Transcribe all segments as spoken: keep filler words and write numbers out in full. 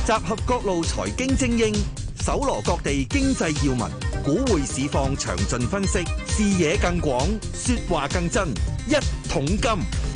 集合各路財經精英，搜羅各地經濟要聞，股匯市況詳盡分析，視野更廣，說話更真。一桶金。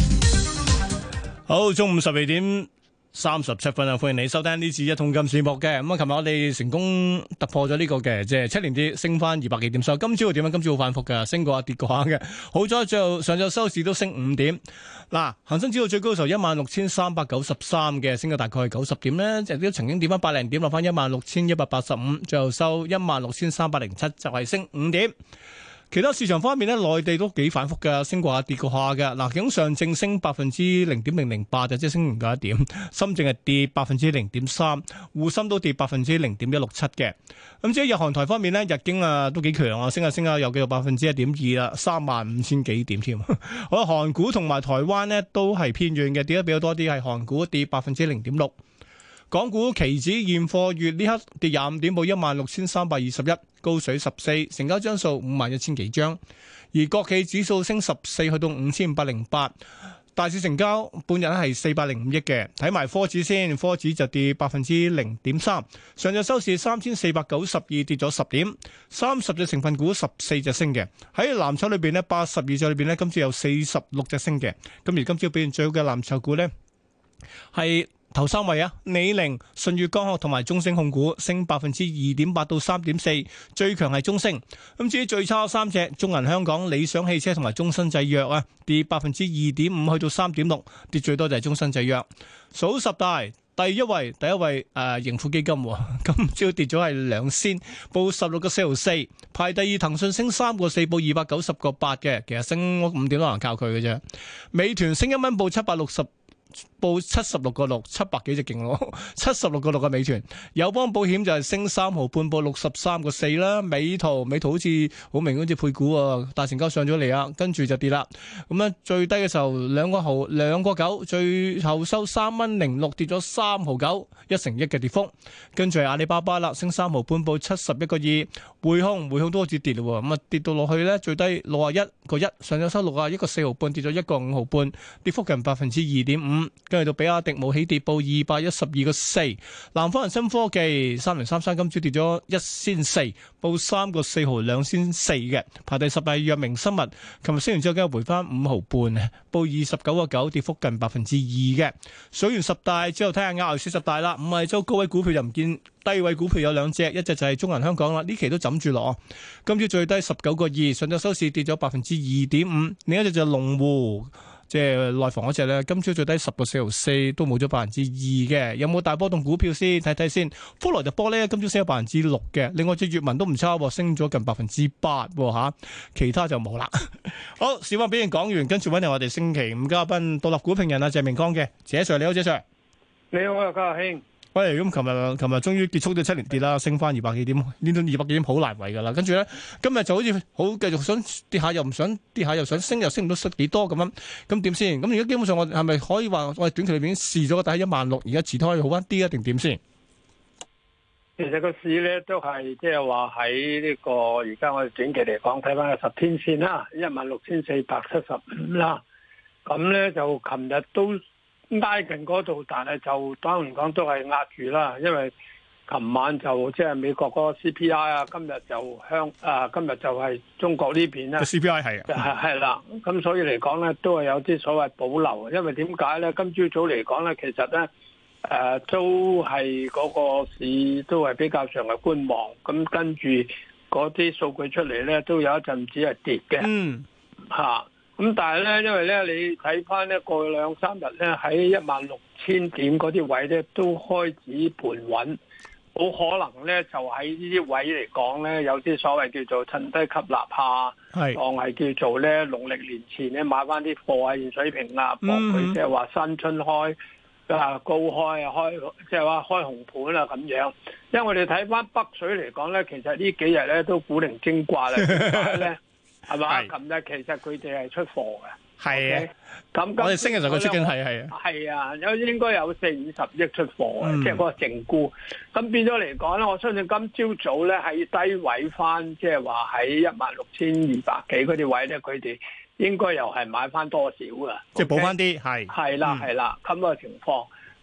好，中午十二點三十七分啊！歡迎你收聽呢次一桶金節目嘅。咁啊，琴日我哋成功突破咗呢個嘅，即係七連跌，升翻二百幾點。所以今朝會點樣？今朝好反覆嘅，升過下跌過下嘅。好在最後上晝收市都升五點。嗱，恒生指數最高嘅時候一萬六千三百九十三嘅，升咗大概係九十點咧，就都曾經跌翻百零點，落翻一萬六千一百八十五，最後收一萬六千三百零七，就係升五點。其他市場方面咧，內地都幾反覆嘅，升過下跌過下嘅。嗱，其中上證升百分之零點零零八，就即係升唔夠一點。深證係跌百分之零點三，滬深都跌百分之零點一六七嘅。咁至於日韓台方面咧，日經啊都幾強啊，升下升下有幾個百分之一點二啦，三萬五千幾點添。好啦，韓股同埋台灣咧都係偏軟嘅，跌得比較多啲，係韓股跌百分之零點六。港股期指現貨月呢刻跌廿五點，報一萬六千三百二十一，高水十四，成交張數五萬一千幾張。而國企指數升十四，去到五千五百零八。大市成交半日係四百零五億嘅。睇埋科指先，科指就跌百分之零點三。上日收市三千四百九十二，跌咗十點。三十隻成分股十四隻升嘅。喺藍籌裏邊呢，八十二隻裏邊呢，今朝有四十六隻升嘅。咁而今朝表現最好嘅藍籌股呢，係頭三位啊，李寧、舜宇光學同埋中升控股升百分之二點八到三點四，最強係中升。咁至於最差三隻，中銀香港、理想汽車同埋中生製藥啊，跌百分之二點五去到三點六，跌最多就係中生製藥。數十大第一位，第一位誒、呃、盈富基金，今朝跌咗係兩仙，報十六個四毫四。排第二騰訊升三個四，報二百九十個八嘅，其實升五點都能靠佢嘅啫。美團升一蚊，報七百六十。報七十六個六，七百幾隻勁咯，七十六個六嘅美團。友邦保險就係升三毫半，報六十三個四啦。美圖美圖好似好明顯好似配股啊，大成交上咗嚟啊，跟住就跌啦。咁咧最低嘅時候兩個毫兩個九，最後收三蚊零六，跌咗三毫九，一成一嘅跌幅。跟住係阿里巴巴啦，升三毫半，報七十一個二。匯控匯控都好似跌咯，咁啊跌到落去咧最低六啊一個一，上咗收六啊一個四毫半，跌咗一個五毫半，跌幅近百分之二點五。跟住到比亞迪冇起跌，報二百一十二個四。南方恒生科技三零三三今朝跌咗一仙四，報三個四毫兩仙四嘅。排第十係藥明生物，琴日升完之後今日回翻五毫半，報二十九個九，跌幅近百分之二嘅。數完十大之後睇下亞牛四十大啦，五係周高位股票又唔見，低位股票有兩隻，一隻就係中銀香港啦，呢期都枕住落。今朝最低十九個二，上晝收市跌咗百分之二點五。另一隻就係龍湖。即係內房嗰隻咧，今朝最低十個四毫四，都冇咗百分之二嘅。有冇大波動股票先睇睇先？福萊特玻璃今朝升咗百分之六嘅。另外隻閱文都唔差，升咗近百分之八吓，其他就冇啦。好，市況表現講完，跟住揾嚟我哋星期五嘉賓獨立股評人啊謝明光嘅，謝 Sir 你好，謝 Sir。 你好啊，家兄。 喂，咁琴日琴日終於結束咗七連跌啦，升翻二百幾點，呢種二百幾點好難為噶啦。跟住咧，今日就好似好繼續想跌下又唔想跌下又想升又升唔到幾多咁樣，咁點先？咁而家基本上我係咪可以話我哋短期裏邊試咗個底一萬六，而家遲啲可以好翻啲啊？定點先？ 其實個市咧都係即係話喺呢個而家我哋短期嚟講睇翻個十天線啦，一萬六千四百七十五啦。咁咧就琴日都挨近嗰度，但係就當然講都係壓住啦，因為琴晚就即係、就是、美國嗰個 C P I 啊，今日就香啊，今日就係中國呢邊咧。 C P I 係係係啦，咁所以嚟講咧都係有啲所謂保留，因為點解咧？今朝早嚟講咧，其實咧誒、呃、都係嗰個市都係比較上係觀望，咁跟住嗰啲數據出嚟咧，都有一陣子係跌嘅。嗯，嚇、啊。咁但係咧，因為咧，你睇翻咧過去兩三日咧，喺一萬六千點嗰啲位咧，都開始盤穩，好可能咧就喺呢啲位嚟講咧，有啲所謂叫做趁低吸納下，係當係叫做咧農曆年前咧買翻啲貨喺現水平啦，博佢即係話新春開啊高開啊開，即係話開紅盤啊咁樣。因為我哋睇翻北水嚟講咧，其實呢幾日咧都古靈精怪啦，點解咧？係嘛？琴日其實佢哋係出貨嘅，係啊。咁我哋升嘅時候佢出緊係係啊，係啊，有應該有四五十億出貨嘅，即係嗰個淨沽。咁變咗嚟講咧，我相信今朝早咧喺低位翻，即係話喺一萬六千二百幾嗰啲位咧，佢哋應該又係買翻多少噶， 即係補翻啲係。 係啦係啦，咁個情況。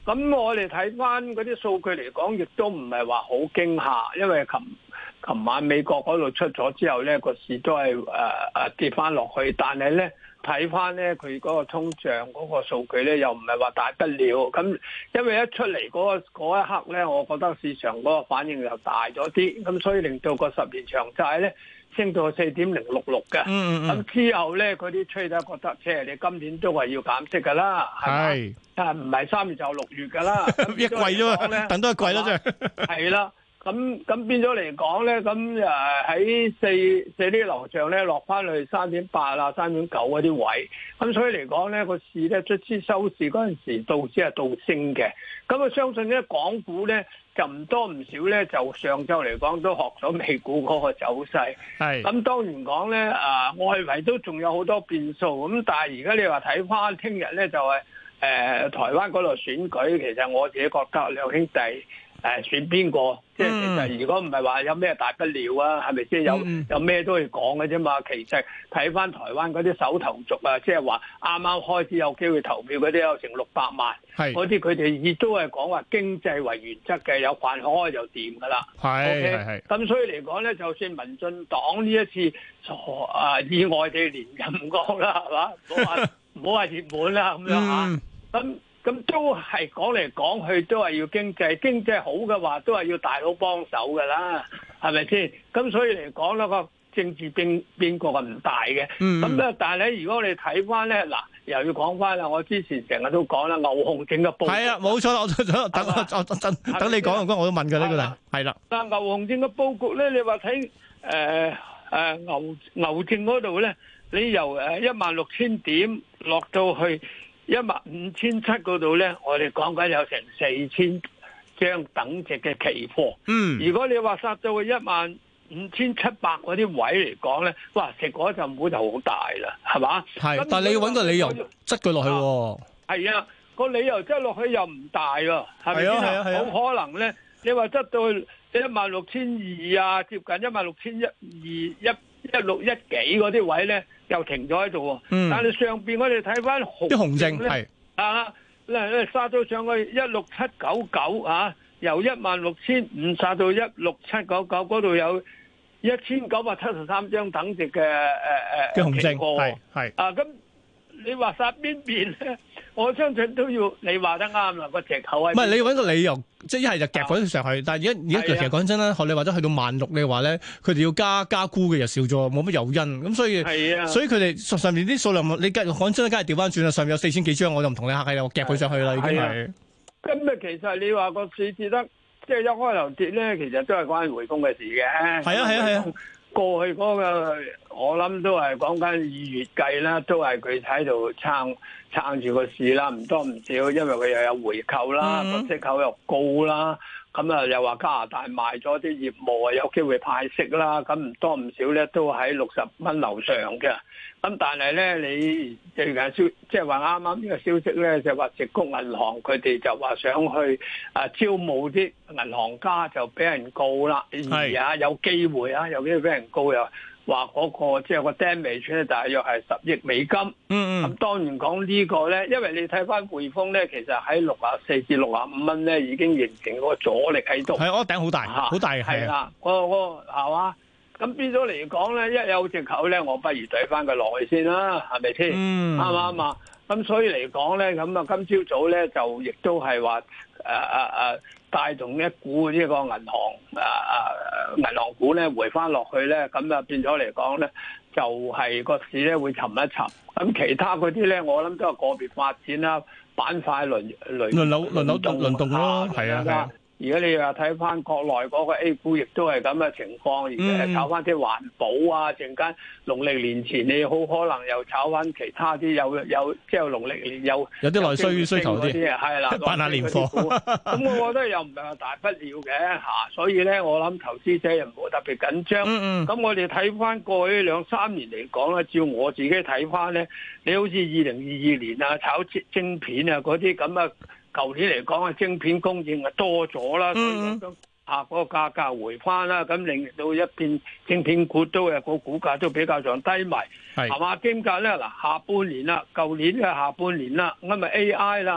咁我哋睇翻嗰啲數據嚟講，亦都唔係話好驚嚇，因為琴琴晚美國嗰度出咗之後咧，個市都係誒誒跌翻落去，但係咧睇翻咧佢嗰個通脹嗰個數據咧，又唔係話大不了。咁因為一出嚟嗰嗰一刻咧，我覺得市場嗰個反應又大咗啲，咁所以令到個十年長債咧升到四點零六六嘅。 嗯嗯咁之後咧，嗰啲吹得覺得，即係你今年都係要減息㗎啦，係咪？但係唔係三月就六月㗎啦， 一季啫嘛，等多一季啦，真係。 係啦。咁咁變咗嚟講咧，咁誒喺四四啲樓上咧落翻去三點八啊、三點九嗰啲位，咁所以嚟講咧個市咧卒之收市嗰陣時道指係倒升嘅，咁啊相信咧港股咧就唔多唔少咧就上晝嚟講都學咗美股嗰個走勢， 係咁當然講咧啊外圍都仲有好多變數，咁但係而家你話睇翻聽日咧就係、是、誒、呃、台灣嗰度選舉，其實我自己覺得兩兄弟。誒選邊個？即係其實如果唔係話有咩大不了啊，係咪先有有咩都可以講嘅啫嘛？其實睇翻台灣嗰啲首投族啊，即係話啱啱開始有機會投票嗰啲有成六百萬，嗰啲佢哋亦都係講話經濟為原則嘅，有飯開就掂㗎啦。 係係係。咁所以嚟講咧，就算民進黨呢一次啊意外地連任過啦，係嘛？唔好話唔好話熱門啦咁樣嚇。咁咁都係講嚟講去都係要經濟，經濟好嘅話都係要大佬幫手噶啦，係咪先？咁所以嚟講咧個政治變變過係唔大嘅。咁咧、嗯，但係咧，如果你睇翻咧，嗱，又要講翻啦。我之前成日都講啦，牛熊證嘅佈局係啊，冇錯啦。我等等吧我等等你講完，我都問㗎呢個啦。係啦。 但牛熊證嘅佈局咧，你話睇誒誒牛牛證嗰度咧，你由誒一萬六千點落到去一萬五千七嗰度咧，我哋講緊有成四千張等值嘅期貨。嗯，如果你話殺到去一萬五千七百嗰啲位嚟講咧，哇！食嗰陣股就好大啦，係嘛？ 係，但係你要揾個理由執佢落去喎。 係啊，個理由執落去又唔大喎，係咪先啊？係啊係啊，好可能咧，你話執到去一萬六千二啊，接近一萬六千一二一一六一幾嗰啲位咧。又停咗喺度喎，嗯、但係上邊我哋睇翻紅啲紅證咧，啊，咧咧殺到上去一六七九九啊，由一萬六千五殺到一六七九九，嗰度有一千九百七十三張等值嘅誒誒紅證，係係啊，咁你話殺邊邊咧？我相信都要你話得啱啦，個藉口係唔係你要揾個理由，即係一係就夾嗰啲上去，但係而家而家其實講真啦，學你話齋去到萬六嘅話咧，佢哋要加加沽嘅又少咗，冇乜誘因，咁所以所以佢哋上面啲數量，你講真啦，梗係調翻轉啦，上面有四千幾張，我就唔同你客氣啦，我夾佢上去啦，已經係。咁啊，其實你話個市跌得即係一開頭跌咧，其實都係關匯豐嘅事嘅。係啊係啊係啊。過去嗰個我諗都係講緊二月計啦，都係佢喺度撐撐住個市啦，唔多唔少，因為佢又有回購啦，個、嗯、息口又高啦，咁啊又話加拿大賣咗啲業務啊，有機會派息啦，咁唔多唔少咧都喺六十蚊樓上嘅。咁但係咧，你最近消即係話啱啱呢個消息咧，就話矽谷銀行佢哋就話想去啊招募啲銀行家，就俾人告啦，而啊有機會啊，有機會俾人告又話嗰個即係個 damage 咧，大約係十億美金。嗯嗯。咁當然講呢個咧，因為你睇翻匯豐咧，其實喺六啊四至六啊五蚊咧已經形成嗰個阻力喺度。係，我頂好大，好大係啦，嗰個嗰個係嘛？咁變咗嚟講咧，一有藉口咧，我不如懟翻佢落去先啦，係咪先？啱唔啱啊？咁所以嚟講咧，咁啊今朝早咧就亦都係話誒誒誒帶動一股呢個銀行誒誒、呃、銀行股咧回翻落去咧，咁啊變咗嚟講咧，就係、是、個市咧會沉一沉。咁其他嗰啲咧，我諗都係個別發展啦，板塊輪輪輪流輪流輪動咯，係啊係啊。而家你又睇翻國內嗰個 A 股，亦都係咁嘅情況，而且係炒翻啲環保啊，陣間農曆年前你好可能又炒翻其他啲有有即係農曆年有有啲內需需求啲，係啦，辦下年貨。咁我覺得又唔係話大不了嘅嚇，所以咧我諗投資者又唔好特別緊張。咁、嗯嗯、我哋睇翻過去兩三年嚟講咧，照我自己睇翻咧，你好似二零二二年啊，炒晶片啊嗰啲咁啊。舊年嚟講啊，晶片供應啊多咗啦，所以咁啊嗰個價格回翻啦，咁令到一片晶片股都係個股價都比較上低迷，係嘛？兼夾咧嗱，下半年啦，舊年嘅下半年啦，咁咪 A I 啦，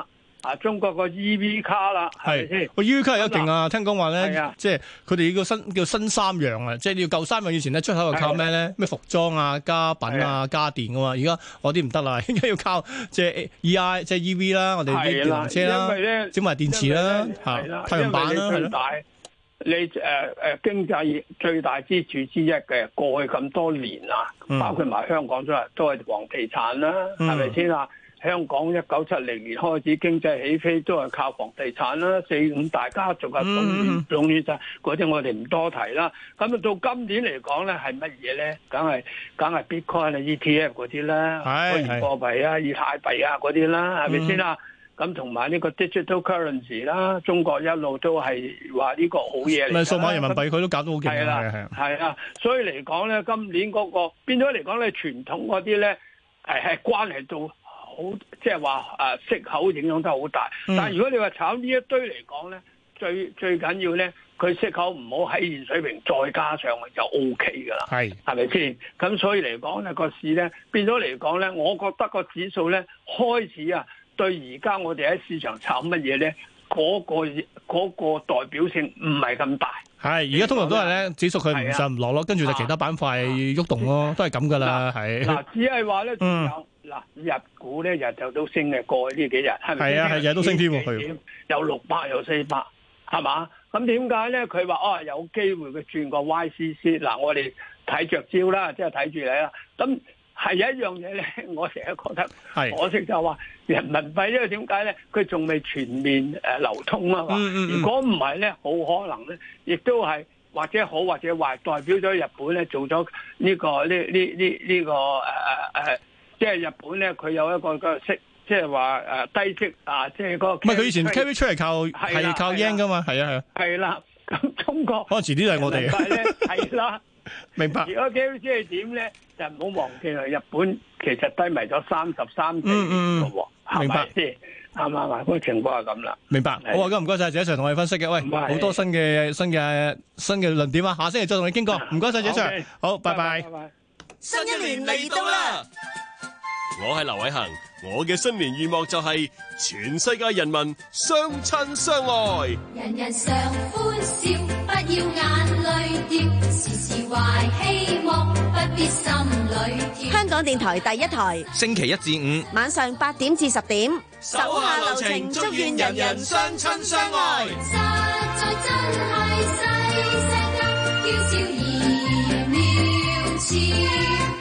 啊，中國個 E V 卡啦，係咪先？ 個 E V 卡又勁啊！聽講話咧係啊， 即係佢哋個新叫新三樣啊，即係你要舊三樣以前咧出口就靠咩咧？咩服裝啊、家品啊、家電噶嘛，而家我啲唔得啦，應該要靠即係 E I 即係 E V 啦，我哋啲電動車啦， 因為咧整埋電池啦，嚇太陽板啦，係咯。 你誒誒、呃、經濟最大支柱之一嘅過去咁多年啊， 嗯、 包括埋香港都係都係房地產啦，係咪先啊？香港一九七零年開始經濟起飛都係靠房地產啦，四五大家族嘅壟壟斷晒嗰啲，我哋唔多提啦。咁啊到今年嚟講咧，係乜嘢咧？梗係梗係 Bitcoin 啊、E T F 嗰啲啦，虛擬貨幣啊、以太幣啊嗰啲啦，係咪先啊？咁同埋呢個 digital currency 啦，中國一路都係話呢個好嘢嚟。 咪數碼人民幣佢都搞到好勁係啦，係啊，所以嚟講咧，今年嗰、嗰個變咗嚟講咧，傳統嗰啲咧係係關係到好，即係話誒息口影響得好大。嗯、但係如果你話炒呢一堆嚟講咧，最最緊要咧，佢息口唔好喺現水平再加上去就 O K 㗎啦。係係咪先？咁所以嚟講咧，個市咧變咗嚟講咧，我覺得個指數咧開始啊。對而家我哋喺市場炒乜嘢咧？嗰、嗰個嗰個代表性唔係咁大。係而家通常都係咧，指數佢唔上唔落咯，跟住就其他板塊喐動咯，啊、都係咁噶啦。係嗱，只係話咧，仲有嗱日股咧日就都升嘅，過去呢幾日係咪？係啊，係日都升添喎，有六百有四百，係嘛？咁點解咧？佢話哦有機會佢轉個 Y C C 嗱，我哋睇着招啦，即係睇住你啦。咁係有一樣嘢咧，我成日覺得可惜就話人民幣，因為點解咧？佢仲未全面誒流通啊嘛。嗯嗯、如果唔係咧，好可能咧，亦都係或者好或者壞，代表咗日本咧做咗呢、這個呢呢呢呢個誒誒誒，即係日本咧佢有一個個息，即係話誒低息啊，即係嗰個。唔係佢以前 carry 出嚟靠係靠 yen 噶嘛，係啊係啊。係啦，咁中國可能遲啲就係我哋。係啦。明白。如果 carry 即係點咧？就唔好忘記啦，日本其實低迷咗三十三四年嘅喎，明白先？啱唔啱啊？嗰個情況係咁啦。明白。好啊，咁唔該晒謝 Sir 同我哋分析嘅。喂，好多新嘅新嘅新嘅論點啊！下星期再同你傾過。唔該晒謝 Sir。好，拜拜。 新一年嚟到啦！我係劉偉恒，我嘅新年願望就係全世界人民相親相愛，人人常歡笑，不要眼淚掉，時時懷希望，不必心裏跳。香港電台第一台， 星期一至五晚上八點至十點，手下留情，祝願人人相親相愛。實在真係世世間，嬌笑而妙俏。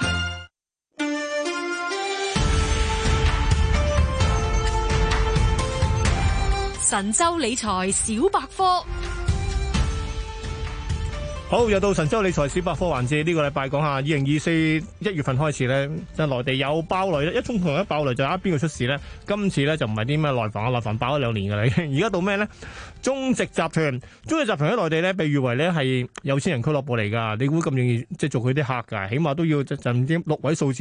神州理財小百科。 好，又到神州理財小百科環節，呢個禮拜講下二零二四一月份開始咧，就內地有爆雷咧，一衝同一爆雷就啱邊個出事咧？今次咧就唔係啲咩內房啊，內房爆咗兩年噶啦，而家到咩咧？中植集團，中植集團喺內地咧，被譽為咧係有錢人俱樂部嚟噶，你估咁容易即係做佢啲客噶？起碼都要就唔知六位數字。